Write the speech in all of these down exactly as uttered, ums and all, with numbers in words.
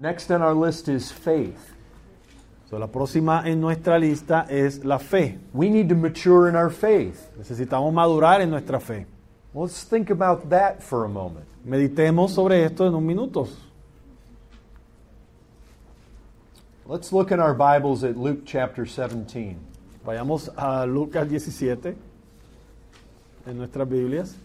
Next on our list is faith. So, la próxima en nuestra lista es la fe. We need to mature in our faith. Necesitamos madurar en nuestra fe. Let's think about that for a moment. Meditemos sobre esto en un minuto. Let's look in our Bibles at Luke chapter seventeen. Vayamos a Lucas diecisiete en nuestras Biblias.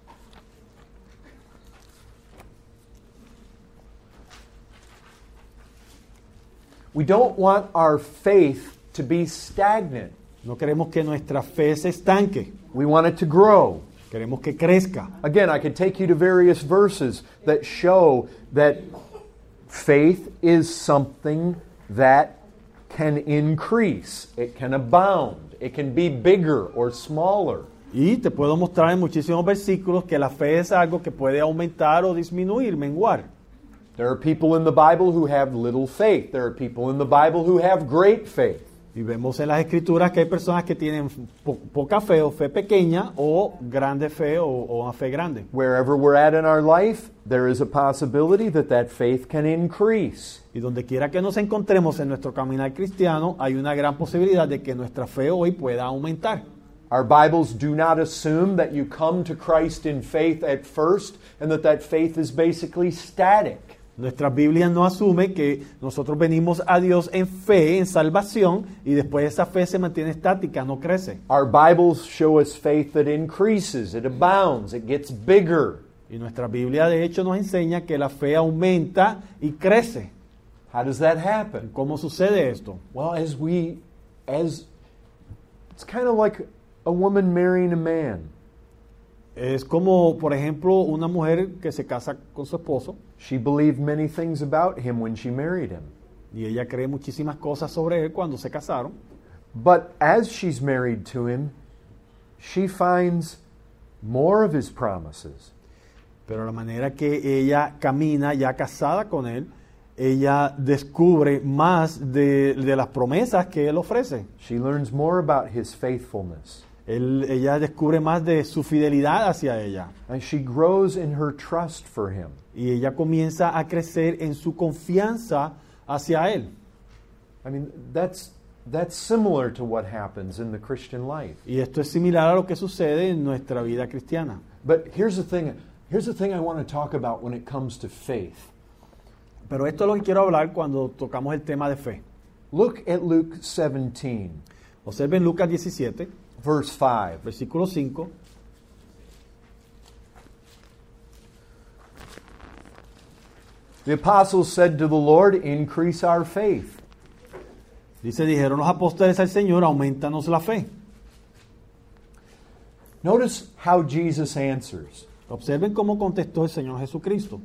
We don't want our faith to be stagnant. No queremos que nuestra fe se estanque. We want it to grow. Queremos que crezca. Again, I could take you to various verses that show that faith is something that can increase. It can abound. It can be bigger or smaller. Y te puedo mostrar en muchísimos versículos que la fe es algo que puede aumentar o disminuir, menguar. There are people in the Bible who have little faith. There are people in the Bible who have great faith. Y vemos en las Escrituras que hay personas que tienen po- poca fe o fe pequeña o grande fe o, o una fe grande. Wherever we're at in our life, there is a possibility that that faith can increase. Y donde quiera que nos encontremos en nuestro caminar cristiano, hay una gran posibilidad de que nuestra fe hoy pueda aumentar. Our Bibles do not assume that you come to Christ in faith at first and that that faith is basically static. Nuestra Biblia no asume que nosotros venimos a Dios en fe, en salvación, y después esa fe se mantiene estática, no crece. Our Bibles show us faith that increases, it abounds, it gets bigger. Y nuestra Biblia de hecho nos enseña que la fe aumenta y crece. How does that happen? ¿Cómo sucede esto? Well, as we, as, it's kind of like a woman marrying a man. Es como, por ejemplo, una mujer que se casa con su esposo. She believed many things about him when she married him. Y ella cree muchísimas cosas sobre él cuando se casaron. But as she's married to him, she finds more of his promises. Pero la manera que ella camina ya casada con él, ella descubre más de, de las promesas que él ofrece. She learns more about his faithfulness. Él, ella descubre más de su fidelidad hacia ella. And she grows in her trust for him. Y ella comienza a crecer en su confianza hacia él. I mean, that's that's similar to what happens in the Christian life. Y esto es similar a lo que sucede en nuestra vida cristiana. But here's the thing, here's the thing I want to talk about when it comes to faith. Pero esto es lo que quiero hablar cuando tocamos el tema de fe. Look at Luke seventeen, Observen Lucas diecisiete, verse five. versículo cinco. The apostles said to the Lord, "Increase our faith." Dice, dijeron los apóstoles al Señor, aumentanos la fe. Notice how Jesus answers. Observen cómo contestó el Señor Jesucristo.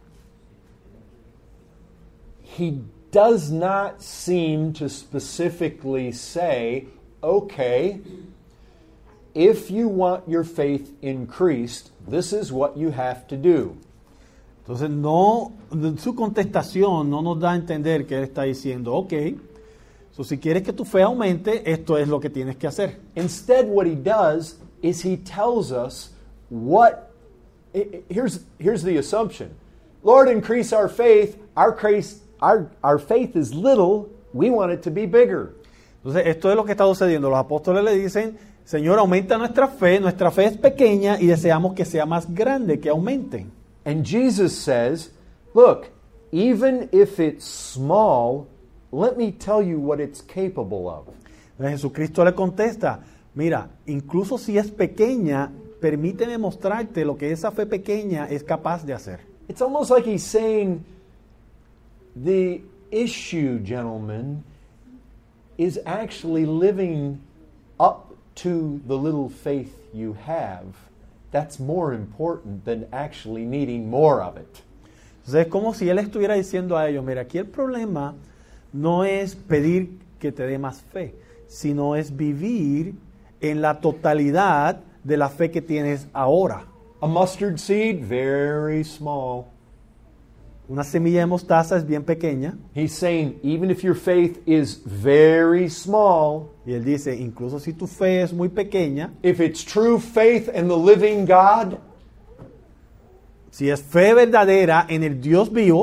He does not seem to specifically say, okay, if you want your faith increased, this is what you have to do. Entonces, no, su contestación no nos da a entender que él está diciendo, ok, so, si quieres que tu fe aumente, esto es lo que tienes que hacer. Instead, what he does is he tells us what, here's, here's the assumption. Lord, increase our faith. Our, our, our faith is little. We want it to be bigger. Entonces, esto es lo que está sucediendo. Los apóstoles le dicen, Señor, aumenta nuestra fe. Nuestra fe es pequeña y deseamos que sea más grande, que aumente. And Jesus says, look, even if it's small, let me tell you what it's capable of. Entonces, Jesucristo le contesta, mira, incluso si es pequeña, permíteme mostrarte lo que esa fe pequeña es capaz de hacer. It's almost like he's saying, the issue, gentlemen, is actually living up to the little faith you have. That's more important than actually needing more of it. Entonces es como si él estuviera diciendo a ellos, mira, aquí el problema no es pedir que te dé más fe, sino es vivir en la totalidad de la fe que tienes ahora. A mustard seed, very small. Una semilla de mostaza es bien pequeña. He's saying, even if your faith is very small, y él dice, incluso si tu fe es muy pequeña, if it's true faith in the living God, si es fe verdadera en el Dios vivo,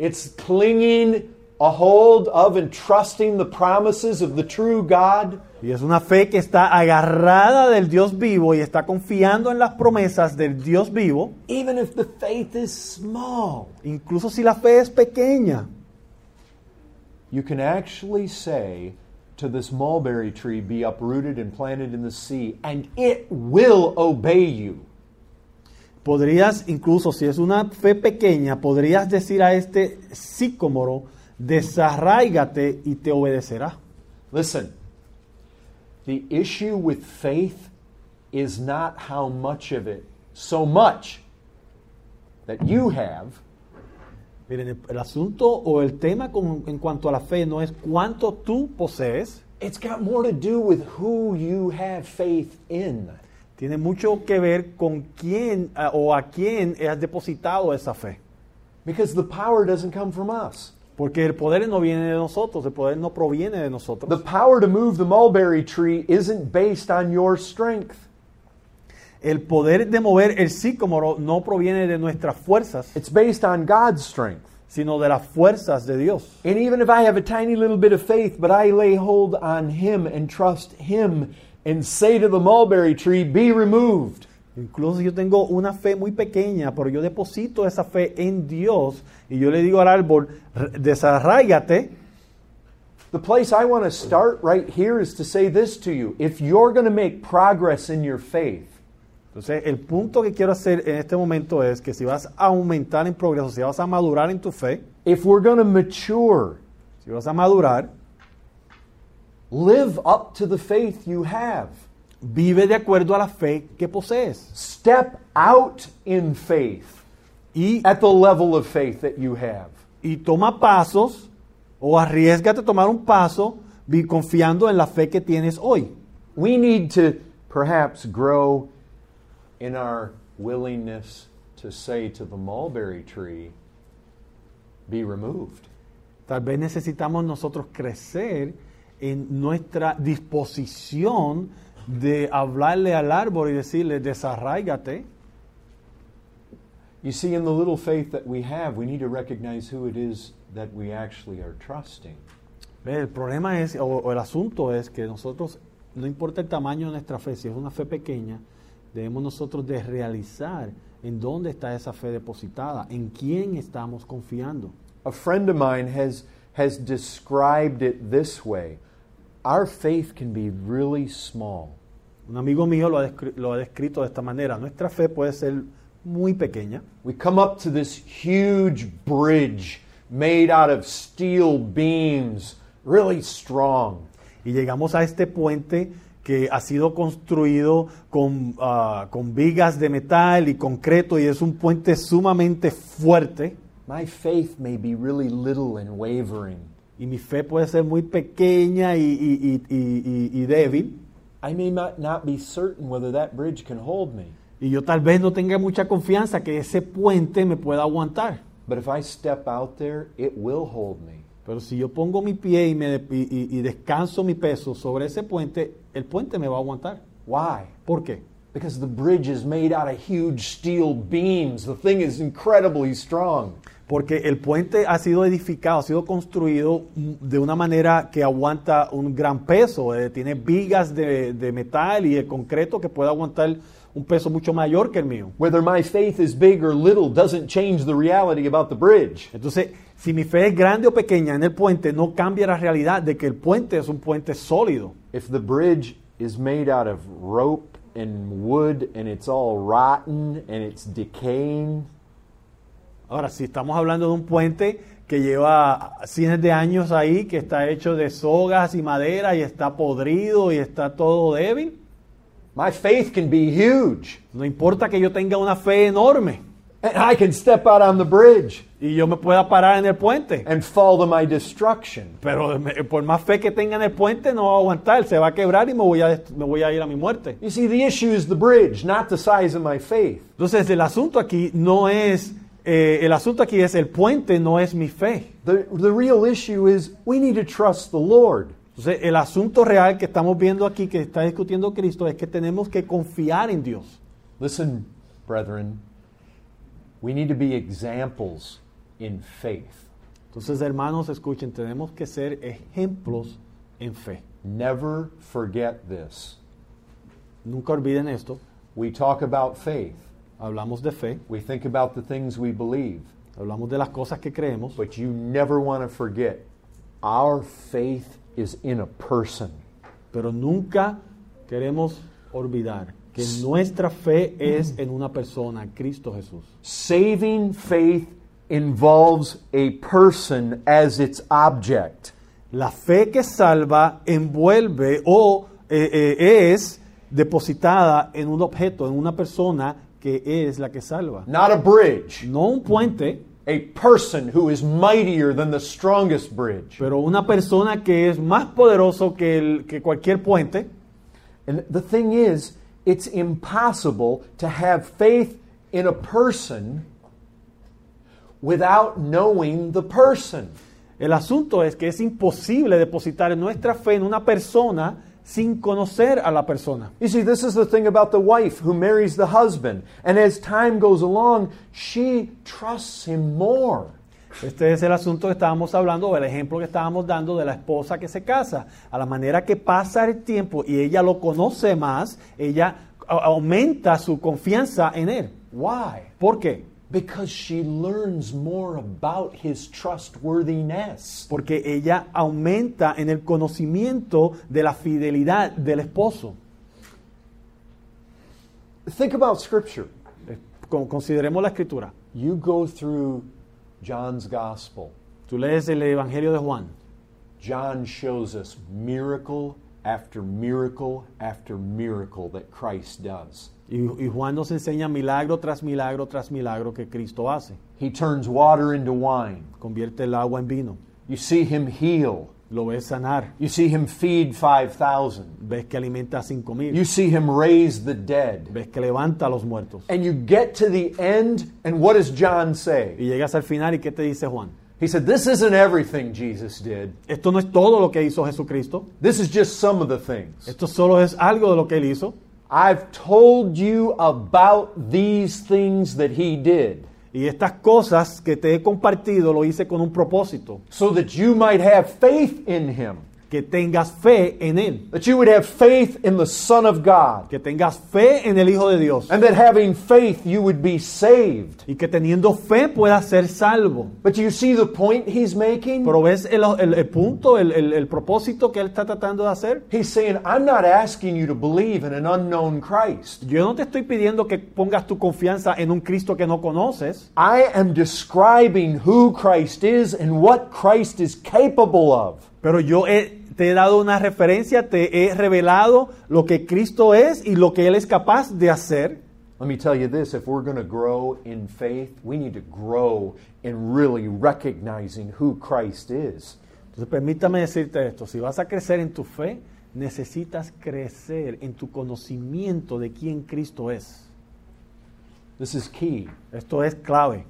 It's clinging a hold of and trusting the promises of the true God. Y es una fe que está agarrada del Dios vivo y está confiando en las promesas del Dios vivo, Even if the faith is small, incluso si la fe es pequeña. you can actually say to this mulberry tree, be uprooted and planted in the sea, and it will obey you. Podrías, incluso si es una fe pequeña, podrías decir a este sicómoro, desarráigate y te obedecerá. Listen, the issue with faith is not how much of it, so much that you have, Miren, el, el asunto o el tema con, en cuanto a la fe no es cuánto tú posees, it's got more to do with who you have faith in. tiene mucho que ver con quién uh, o a quién has depositado esa fe. Because the power doesn't come from us. Porque el poder no viene de nosotros, el poder no proviene de The nosotros. power to move the mulberry tree isn't based on your strength. El poder de mover el sicómoro no proviene de nuestras fuerzas, It's based on God's strength. sino de las fuerzas de Dios. And even if I have a tiny little bit of faith, but I lay hold on Him and trust Him and say to the mulberry tree, be removed. Incluso yo tengo una fe muy pequeña, pero yo deposito esa fe en Dios y yo le digo al árbol, desarráigate. The place I want to start right here is to say this to you. If you're going to make progress in your faith, Entonces, el punto que quiero hacer en este momento es que si vas a aumentar en progreso, si vas a madurar en tu fe, if we're going to mature, si vas a madurar, live up to the faith you have. vive de acuerdo a la fe que posees. Step out in faith Y, at the level of faith that you have. y toma pasos o arriésgate a tomar un paso vi- confiando en la fe que tienes hoy. We need to perhaps grow in our willingness to say to the mulberry tree, be removed. Tal vez necesitamos nosotros crecer en nuestra disposición de hablarle al árbol y decirle, desarráigate. You see, in the little faith that we have, we need to recognize who it is that we actually are trusting. Ve, el problema es, o, o el asunto es que nosotros, no importa el tamaño de nuestra fe, si es una fe pequeña, debemos nosotros de realizar en dónde está esa fe depositada, en quién estamos confiando. A friend of mine has, has described it this way. Our faith can be really small. Un amigo mío lo ha, descri- lo ha descrito de esta manera. Nuestra fe puede ser muy pequeña. We come up to this huge bridge made out of steel beams, really strong. Y llegamos a este puente que ha sido construido con, ah, con vigas de metal y concreto y es un puente sumamente fuerte. My faith may be really little and wavering. Y mi fe puede ser muy pequeña y, y- y- y- y- y débil. I may not, not be certain whether that bridge can hold me. Y yo tal vez no tenga mucha confianza que ese puente me pueda aguantar. But if I step out there, it will hold me. Pero si yo pongo mi pie y, me de- y- y- y descanso mi peso sobre ese puente, el puente me va a aguantar. Why? ¿Por qué? Because the bridge is made out of huge steel beams. The thing is incredibly strong. Porque el puente ha sido edificado, ha sido construido mm, de una manera que aguanta un gran peso. eh, tiene vigas de, de metal y de concreto que puede aguantar un peso mucho mayor que el mío. Whether my faith is big or little doesn't change the reality about the bridge. Entonces, si mi fe es grande o pequeña en el puente, no cambia la realidad de que el puente es un puente sólido. If the bridge is made out of rope and wood and it's all rotten and it's decaying, Ahora, si estamos hablando de un puente que lleva cientos de años ahí, que está hecho de sogas y madera y está podrido y está todo débil, my faith can be huge. no importa que yo tenga una fe enorme And I can step out on the bridge y yo me pueda parar en el puente, and fall to my destruction. pero me- por más fe que tenga en el puente no va a aguantar, se va a quebrar y me voy a, dest- me voy a ir a mi muerte. You see, the issue is the bridge, not the size of my faith. Entonces, el asunto aquí no es, eh, el asunto aquí es el puente, no es mi fe. The, the real issue is we need to trust the Lord. Entonces, el asunto real que estamos viendo aquí, que está discutiendo Cristo, es que tenemos que confiar en Dios. Listen, brethren, we need to be examples in faith. Entonces, hermanos, escuchen, tenemos que ser ejemplos en fe. Never forget this. Nunca olviden esto. We talk about faith. Hablamos de fe, We think about the things we believe. hablamos de las cosas que creemos, But you never want to forget, our faith is in a person. pero nunca queremos olvidar que nuestra fe es en una persona, Cristo Jesús. Saving faith involves a person as its object. La fe que salva envuelve o eh, eh, es depositada en un objeto, en una persona que es la que salva. Not a bridge. No un puente, A person who is mightier than the strongest bridge. pero una persona que es más poderoso que, el, que cualquier puente. And the thing is, it's impossible to have faith in a person without knowing the person. El asunto es que es imposible depositar nuestra fe en una persona sin conocer a la persona. You see, this is the thing about the wife who marries the husband. And as time goes along, she trusts him more. Este es el asunto que estábamos hablando, o el ejemplo que estábamos dando de la esposa que se casa. A la manera que pasa el tiempo y ella lo conoce más, ella a- aumenta su confianza en él. Why? ¿Por qué? Because she learns more about his trustworthiness. Porque ella aumenta en el conocimiento de la fidelidad del esposo. Think about Scripture. Eh, con- Consideremos la escritura. You go through John's Gospel. Tú lees el Evangelio de Juan. John shows us miracle after miracle after miracle that Christ does. Y, y Juan nos enseña milagro tras milagro tras milagro que Cristo hace. He turns water into wine. Convierte el agua en vino. You see him heal. Lo ves sanar. You see him feed five thousand. Ves que alimenta a cinco mil. You see him raise the dead. Ves que levanta a los muertos. And you get to the end, and what does John say? Y llegas al final y ¿qué te dice Juan? He said, this isn't everything Jesus did. Esto no es todo lo que hizo Jesucristo. This is just some of the things. Esto solo es algo de lo que él hizo. I've told you about these things that he did, Y estas cosas que te he compartido lo hice con un propósito. so that you might have faith in him, Que tengas fe en él. that you would have faith in the Son of God, Que tengas fe en el Hijo de Dios. and that having faith you would be saved. Y que teniendo fe puedas ser salvo. But do you see the point he's making? Pero ves el, el- el punto, el, el- el propósito que él está tratando de hacer. He's saying, I'm not asking you to believe in an unknown Christ. Yo no te estoy pidiendo que pongas tu confianza en un Cristo que no conoces. I am describing who Christ is and what Christ is capable of. Pero yo he- te he dado una referencia, te he revelado lo que Cristo es y lo que Él es capaz de hacer. Let me tell you this, if we're going to grow in faith, we need to grow in really recognizing who Christ is. Entonces permítame decirte esto, si vas a crecer en tu fe, necesitas crecer en tu conocimiento de quién Cristo es. This is key. Esto es clave.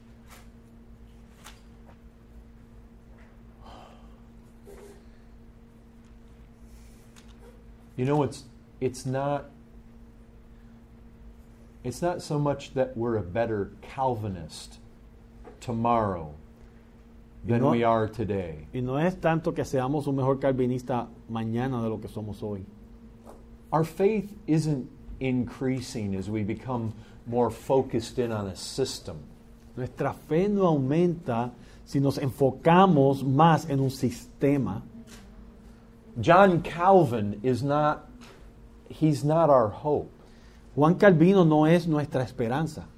You know, it's it's not it's not so much that we're a better Calvinist tomorrow than No- we are today. Y no es tanto que seamos un mejor calvinista mañana de lo que somos hoy. Our faith isn't increasing as we become more focused in on a system. Nuestra fe no aumenta si nos enfocamos más en un sistema. John Calvin is not he's not our hope. Juan Calvino no es nuestra esperanza.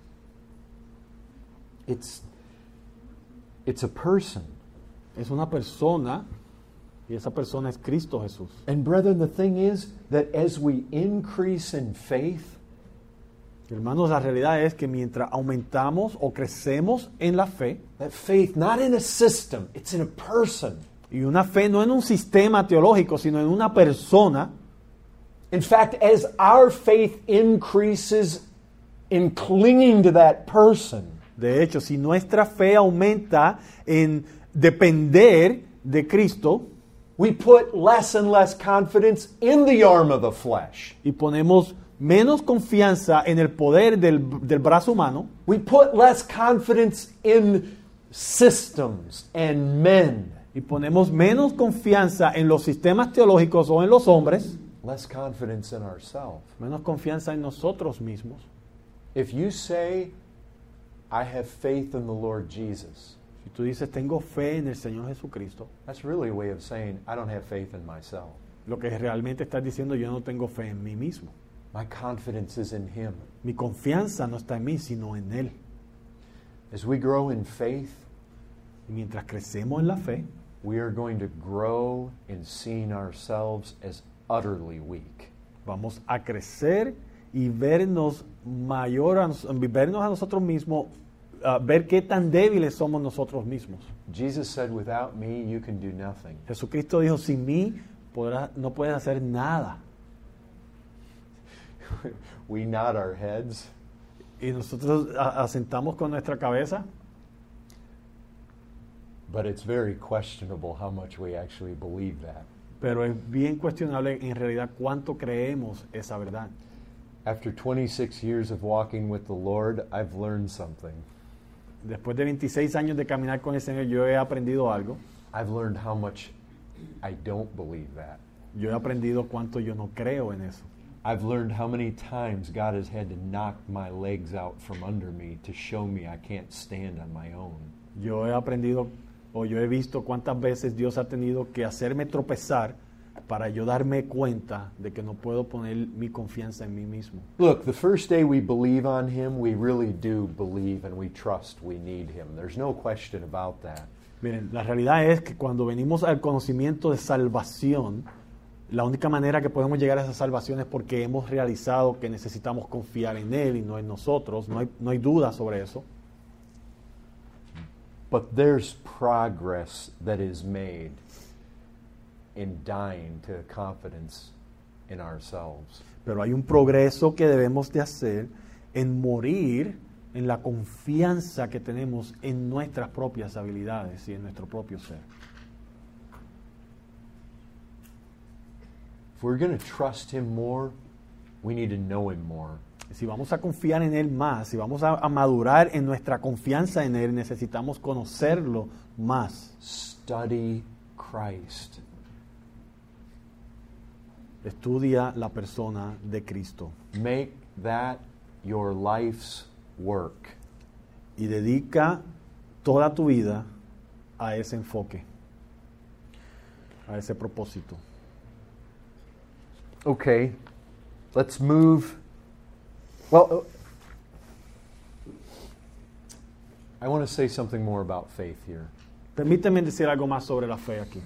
It's it's a person. Es una persona y esa persona es Cristo Jesús. And brethren, the thing is that as we increase in faith, Hermanos, la realidad es que mientras aumentamos o crecemos en la fe, that faith not in a system, it's in a person. y una fe no en un sistema teológico, sino en una persona, In fact, as our faith increases in clinging to that person, de hecho, si nuestra fe aumenta en depender de Cristo we put less and less confidence in the arm of the flesh. y ponemos menos confianza en el poder del, del brazo humano, We put less confidence in systems and men, y ponemos menos confianza en los sistemas teológicos o en los hombres, less confidence in ourselves. menos confianza en nosotros mismos. If you say, I have faith in the Lord Jesus, Si tú dices, tengo fe en el Señor Jesucristo, that's really a way of saying, I don't have faith in myself. lo que realmente estás diciendo, yo no tengo fe en mí mismo. My confidence is in Him. Mi confianza no está en mí, sino en Él. As we grow in faith, Y mientras crecemos en la fe, we are going to grow in seeing ourselves as utterly weak. vamos a crecer y vernos mayor a, nos- vernos a nosotros mismos, uh, ver qué tan débiles somos nosotros mismos. Jesus said, without me, you can do nothing. Jesucristo dijo, sin mí podrás, no puedes hacer nada. We nod our heads. Y nosotros a- asentamos con nuestra cabeza, But it's very questionable how much we actually believe that. pero es bien cuestionable en realidad cuánto creemos esa verdad. After twenty-six years of walking with the Lord, I've learned something. Después de veintiséis años de caminar con el Señor, yo he aprendido algo. I've learned how much I don't believe that. Yo he aprendido cuánto yo no creo en eso. I've learned how many times God has had to knock my legs out from under me to show me I can't stand on my own. Yo he aprendido o yo he visto cuántas veces Dios ha tenido que hacerme tropezar para yo darme cuenta de que no puedo poner mi confianza en mí mismo. Look, the first day we believe on Him, we really do believe and we trust we need Him. There's no question about that. Miren, la realidad es que cuando venimos al conocimiento de salvación, la única manera que podemos llegar a esa salvación es porque hemos realizado que necesitamos confiar en Él y no en nosotros. No hay, no hay duda sobre eso. But there's progress that is made in dying to confidence in ourselves. Pero hay un progreso que debemos de hacer en morir en la confianza que tenemos en nuestras propias habilidades y en nuestro propio ser. If we're going to trust Him more, we need to know Him more. Si vamos a confiar en Él más, si vamos a, a madurar en nuestra confianza en Él, necesitamos conocerlo más. Study Christ. Estudia la persona de Cristo Make that your life's work. y dedica toda tu vida a ese enfoque, a ese propósito. Okay, let's move. Well, I want to say something more about faith here. Permíteme decir algo más sobre la fe aquí.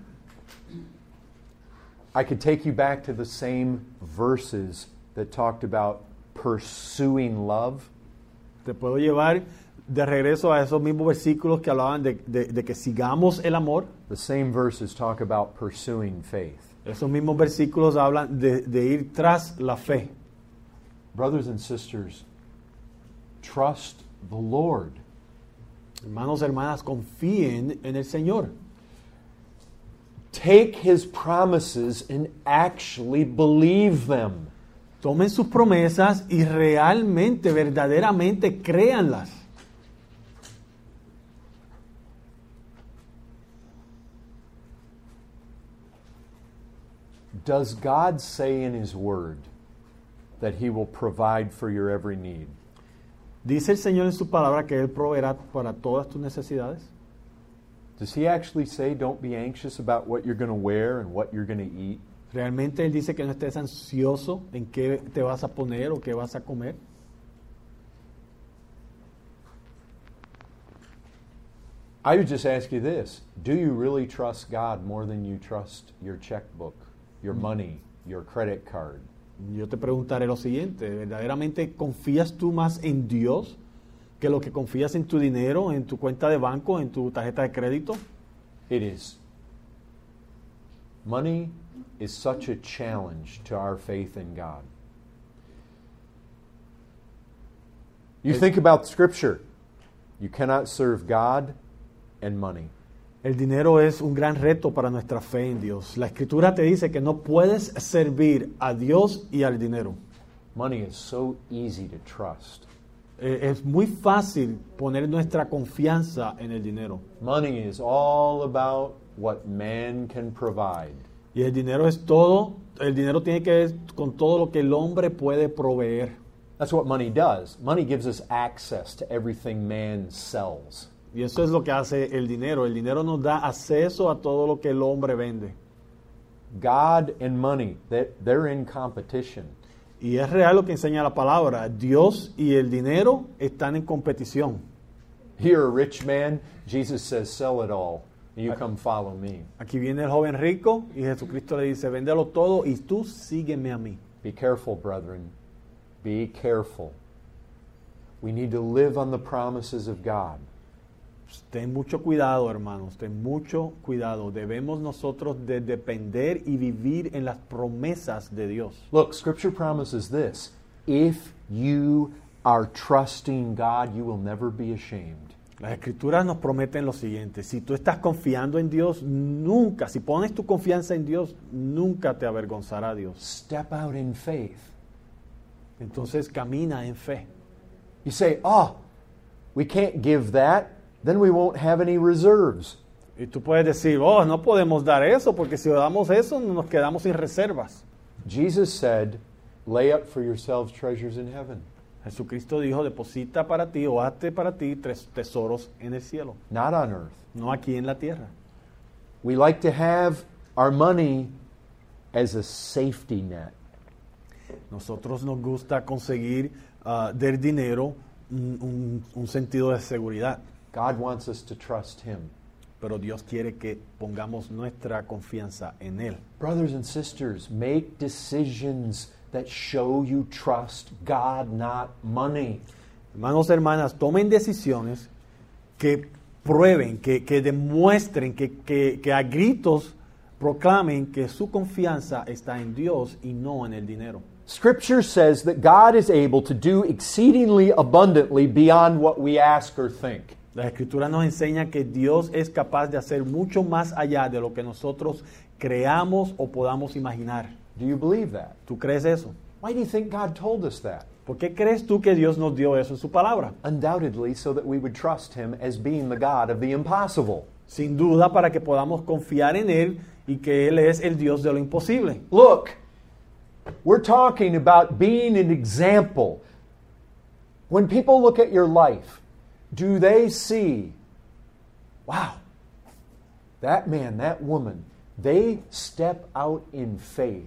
I could take you back to the same verses that talked about pursuing love. Te puedo llevar de regreso a esos mismos versículos que hablaban de, de, de que sigamos el amor. The same verses talk about pursuing faith. Esos mismos versículos hablan de, de ir tras la fe. Brothers and sisters, trust the Lord. Hermanos, hermanas, confíen en el Señor. Take His promises and actually believe them. Tomen sus promesas y realmente, verdaderamente créanlas. Does God say in His Word that He will provide for your every need? Dice el Señor en su palabra que Él proveerá para todas tus necesidades. Does He actually say don't be anxious about what you're going to wear and what you're going to eat? Realmente Él dice que no estés ansioso en qué te vas a poner o qué vas a comer. I would just ask you this. Do you really trust God more than you trust your checkbook, your money, your credit card? Yo te preguntaré lo siguiente, ¿verdaderamente confías tú más en Dios que lo que confías en tu dinero, en tu cuenta de banco, en tu tarjeta de crédito? It is. Money is such a challenge to our faith in God. You think about Scripture. You cannot serve God and money. El dinero es un gran reto para nuestra fe en Dios. La Escritura te dice que no puedes servir a Dios y al dinero. Money is so easy to trust. Eh, es muy fácil poner nuestra confianza en el dinero. Money is all about what man can provide. Y el dinero es todo, el dinero tiene que ver con todo lo que el hombre puede proveer. That's what money does. Money gives us access to everything man sells. Y eso es lo que hace el dinero. El dinero nos da acceso a todo lo que el hombre vende. God and money, they're, they're in competition. Y es real lo que enseña la palabra. Dios y el dinero están en competición. You're a rich man, Jesus says, sell it all. You come follow me. Aquí viene el joven rico y Jesucristo le dice, véndelo todo y tú sígueme a mí. Be careful, brethren. Be careful. We need to live on the promises of God. Ten mucho cuidado, hermanos, ten mucho cuidado. Debemos nosotros de depender y vivir en las promesas de Dios. Look, Scripture promises this. If you are trusting God, you will never be ashamed. Las Escrituras nos prometen lo siguiente. Si tú estás confiando en Dios, nunca, si pones tu confianza en Dios, nunca te avergonzará Dios. Step out in faith. Entonces camina en fe. You say, oh, we can't give that. Then we won't have any reserves. Y tú puedes decir, oh, no podemos dar eso, porque si damos eso, nos quedamos sin reservas. Jesus said, lay up for yourselves treasures in heaven. Jesucristo dijo, deposita para ti o hazte para ti tres tesoros en el cielo, Not on earth. no aquí en la tierra. We like to have our money as a safety net. Nosotros nos gusta conseguir uh, del dinero un, un, un sentido de seguridad. God wants us to trust Him. Pero Dios quiere que pongamos nuestra confianza en Él. Brothers and sisters, make decisions that show you trust God, not money. Hermanos, hermanas, tomen decisiones que prueben, que, que demuestren, que, que, que a gritos proclamen que su confianza está en Dios y no en el dinero. Scripture says that God is able to do exceedingly abundantly beyond what we ask or think. La Escritura nos enseña que Dios es capaz de hacer mucho más allá de lo que nosotros creamos o podamos imaginar. Do you believe that? ¿Tú crees eso? Why do you think God told us that? ¿Por qué crees tú que Dios nos dio eso en su palabra? Undoubtedly, so that we would trust Him as being the God of the impossible. Sin duda, para que podamos confiar en Él y que Él es el Dios de lo imposible. Look, we're talking about being an example. When people look at your life, do they see, wow, that man, that woman, they step out in faith.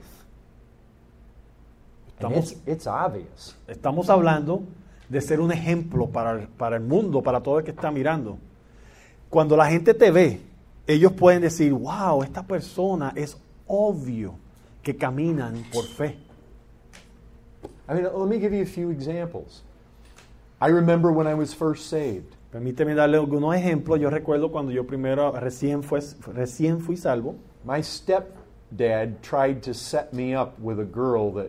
And Estamos, it's, it's obvious. estamos hablando de ser un ejemplo para, para el mundo, para todo el que está mirando. Cuando la gente te ve, ellos pueden decir, wow, esta persona es obvio que caminan por fe. I mean, let me give you a few examples. I remember when I was first saved. Permíteme darle algunos ejemplos. Yo recuerdo cuando yo primero recién, fue, recién fui salvo. My stepdad tried to set me up with a girl that,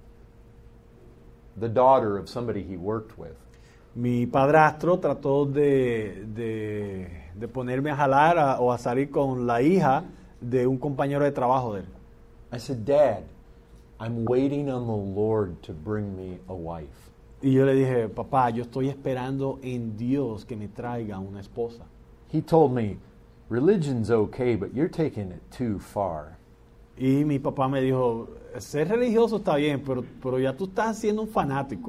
the daughter of somebody he worked with. Mi padrastro trató de, de, de ponerme a jalar a, o a salir con la hija de un compañero de trabajo de él. I said, Dad, I'm waiting on the Lord to bring me a wife. Y yo le dije, papá, yo estoy esperando en Dios que me traiga una esposa. He told me, religion's okay, but you're taking it too far. Y mi papá me dijo, ser religioso está bien, pero, pero ya tú estás siendo un fanático.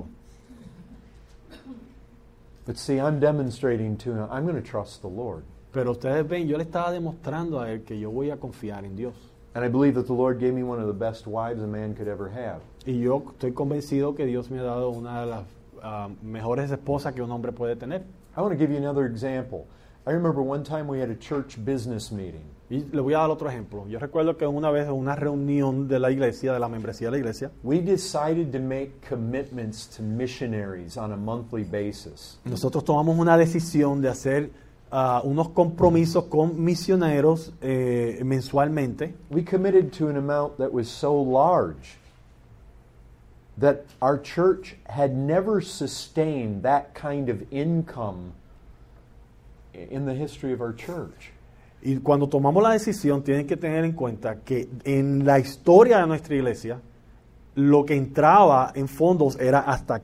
But see, I'm demonstrating to him, I'm going to trust the Lord. Pero ustedes ven, yo le estaba demostrando a él que yo voy a confiar en Dios. And I believe that the Lord gave me one of the best wives a man could ever have. Y yo estoy convencido que Dios me ha dado una de las uh, mejores esposas que un hombre puede tener. I want to give you another example. I remember one time we had a church business meeting. Y le voy a dar otro ejemplo. Yo recuerdo que una vez en una reunión de la iglesia, de la membresía de la iglesia, We decided to make commitments to missionaries on a monthly basis. nosotros tomamos una decisión de hacer uh, unos compromisos con misioneros eh, mensualmente. We committed to an amount that was so large that our church had never sustained that kind of income in the history of our church. Y cuando tomamos la decisión, tienen que tener en cuenta que en la historia de nuestra iglesia, lo que entraba en fondos era hasta aquí.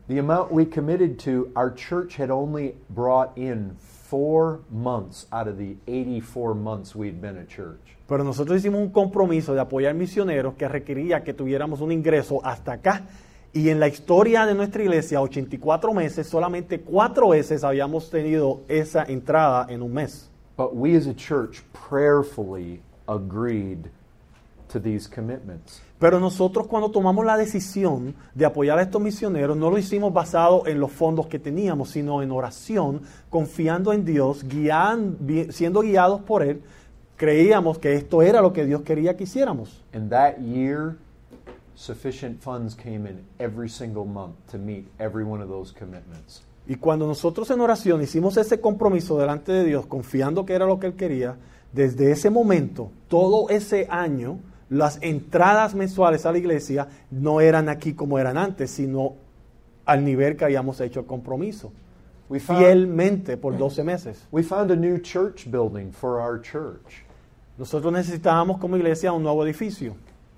The amount we committed to, our church had only brought in four months out of the eighty-four months we'd been a church. Pero nosotros hicimos un compromiso de apoyar misioneros que requería que tuviéramos un ingreso hasta acá. Y en la historia de nuestra iglesia, ochenta y cuatro meses, solamente cuatro veces habíamos tenido esa entrada en un mes. But we as a church prayerfully agreed to these commitments. Pero nosotros cuando tomamos la decisión de apoyar a estos misioneros, no lo hicimos basado en los fondos que teníamos, sino en oración, confiando en Dios, guiando, siendo guiados por Él. Creíamos que esto era lo que Dios quería que hiciéramos. And that year, sufficient funds came in every single month to meet every one of those commitments. Y cuando nosotros en oración hicimos ese compromiso delante de Dios, confiando que era lo que Él quería, desde ese momento, todo ese año, las entradas mensuales a la iglesia no eran aquí como eran antes, sino al nivel que habíamos hecho el compromiso. We found, Fielmente por doce meses. we found a new church building for our church. Nosotros necesitábamos como iglesia un nuevo edificio.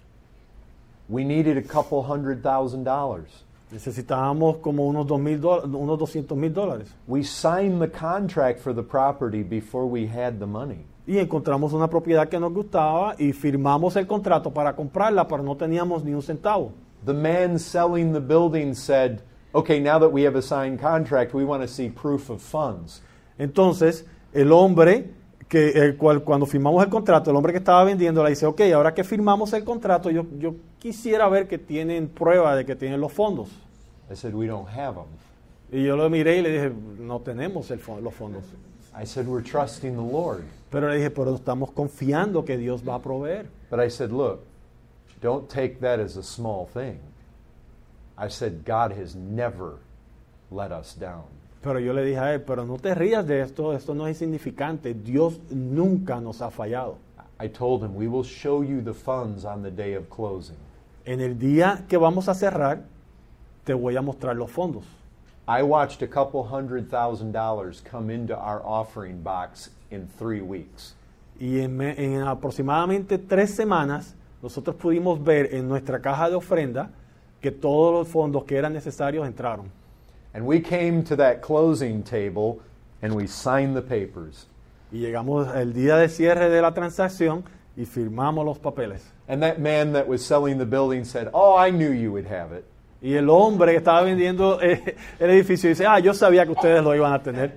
We needed a couple hundred thousand dollars. Necesitábamos como unos, dos mil do- unos doscientos mil dólares. We signed the contract for the property before we had the money. Y encontramos una propiedad que nos gustaba y firmamos el contrato para comprarla, pero no teníamos ni un centavo. The man selling the building said, okay, now that we have a signed contract, we want to see proof of funds. Entonces, el hombre, que el cual cuando firmamos el contrato, el hombre que estaba vendiendo le dice, ok, ahora que firmamos el contrato, yo, yo quisiera ver que tienen prueba de que tienen los fondos. I said, we don't have them. Y yo lo miré y le dije, no tenemos el fo- los fondos. I said, we're trusting the Lord. Pero le dije, pero estamos confiando que Dios va a proveer. But I said, look, don't take that as a small thing. I said, God has never let us down. Pero yo le dije a él, pero no te rías de esto, esto no es insignificante. Dios nunca nos ha fallado. I told him, we will show you the funds on the day of closing. En el día que vamos a cerrar, te voy a mostrar los fondos. I watched a couple hundred thousand dollars come into our offering box in three weeks. Y en, me- en aproximadamente tres semanas, nosotros pudimos ver en nuestra caja de ofrenda que todos los fondos que eran necesarios entraron. And we came to that closing table and we signed the papers. Y llegamos el día de cierre de la transacción y firmamos los papeles. And that man that was selling the building said, oh, I knew you would have it. Y el hombre que estaba vendiendo eh, el edificio dice, ah, yo sabía que ustedes lo iban a tener.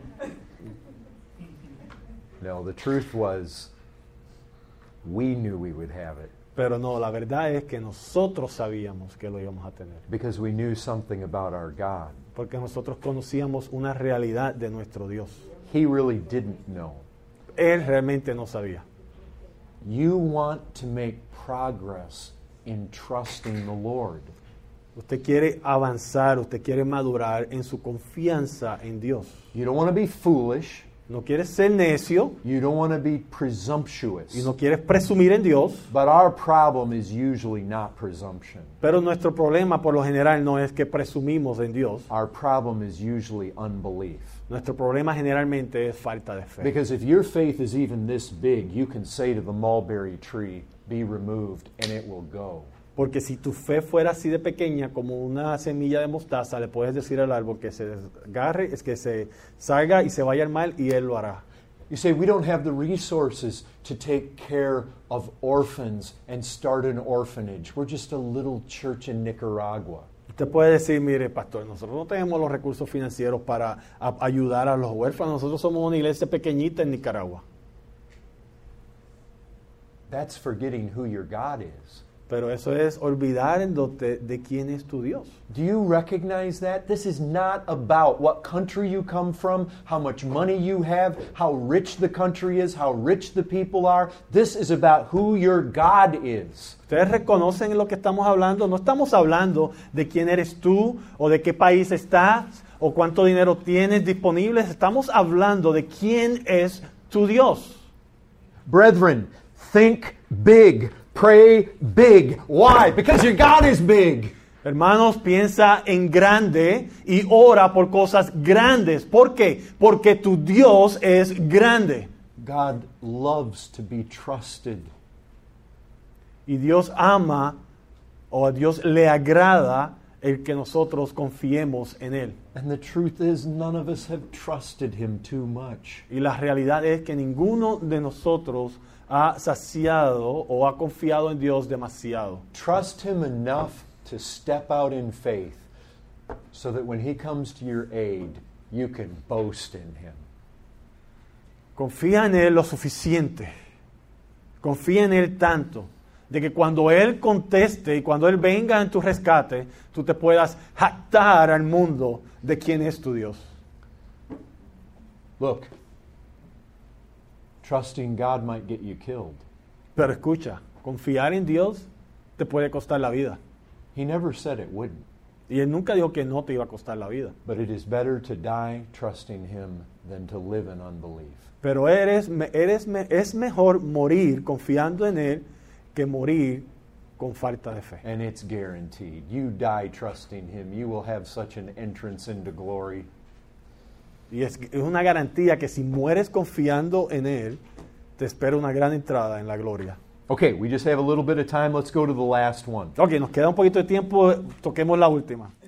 No, the truth was, we knew we would have it Pero no, la verdad es que nosotros sabíamos que lo íbamos a tener. because we knew something about our God. Porque nosotros conocíamos una realidad de nuestro Dios. He really didn't know. Él realmente no sabía. You want to make progress in trusting the Lord. Usted quiere avanzar, usted quiere madurar en su confianza en Dios. You don't want to be foolish. No quiere ser necio You don't want to be presumptuous. y no quiere presumir en Dios. But our problem is usually not presumption. Pero nuestro problema por lo general no es que presumimos en Dios. Our problem is usually unbelief. Nuestro problema generalmente es falta de fe. Because if your faith is even this big, you can say to the mulberry tree, be removed, and it will go. Porque si tu fe fuera así de pequeña como una semilla de mostaza, le puedes decir al árbol que se desgarre, es que se salga y se vaya al mar y él lo hará. You say, we don't have the resources to take care of orphans and start an orphanage. We're just a little church in Nicaragua. Usted puede decir, mire, pastor, nosotros no tenemos los recursos financieros para a- ayudar a los huérfanos. Nosotros somos una iglesia pequeñita en Nicaragua. That's forgetting who your God is. Pero eso es olvidándote de quién es tu Dios. Do you recognize that? This is not about what country you come from, how much money you have, how rich the country is, how rich the people are. This is about who your God is. Ustedes reconocen lo que estamos hablando. No estamos hablando de quién eres tú o de qué país estás o cuánto dinero tienes disponible. Estamos hablando de quién es tu Dios. Brethren, think big. Pray big. Why? Because your God is big. Hermanos, piensa en grande y ora por cosas grandes. ¿Por qué? Porque tu Dios es grande. God loves to be trusted. Y Dios ama o a Dios le agrada el que nosotros confiemos en Él. And the truth is, none of us have trusted him too much. Y la realidad es que ninguno de nosotros ha saciado o ha confiado en Dios demasiado. Trust him enough to step out in faith so that when he comes to your aid, you can boast in him. Confía en Él lo suficiente. Confía en Él tanto de que cuando Él conteste y cuando Él venga en tu rescate, tú te puedas jactar al mundo de quién es tu Dios. Look, trusting God might get you killed. Pero escucha, confiar en Dios te puede costar la vida. He never said it wouldn't. Y Él nunca dijo que no te iba a costar la vida. But it is better to die trusting him than to live in unbelief. Pero eres, eres, es mejor morir confiando en Él que morir con falta de fe. And it's guaranteed. You die trusting him, you will have such an entrance into glory. Y es, es una garantía que si mueres confiando en Él, te espera una gran entrada en la gloria. Okay, we just have a little bit of time. Let's go to the last one. Ok, nos queda un poquito de tiempo, toquemos la última.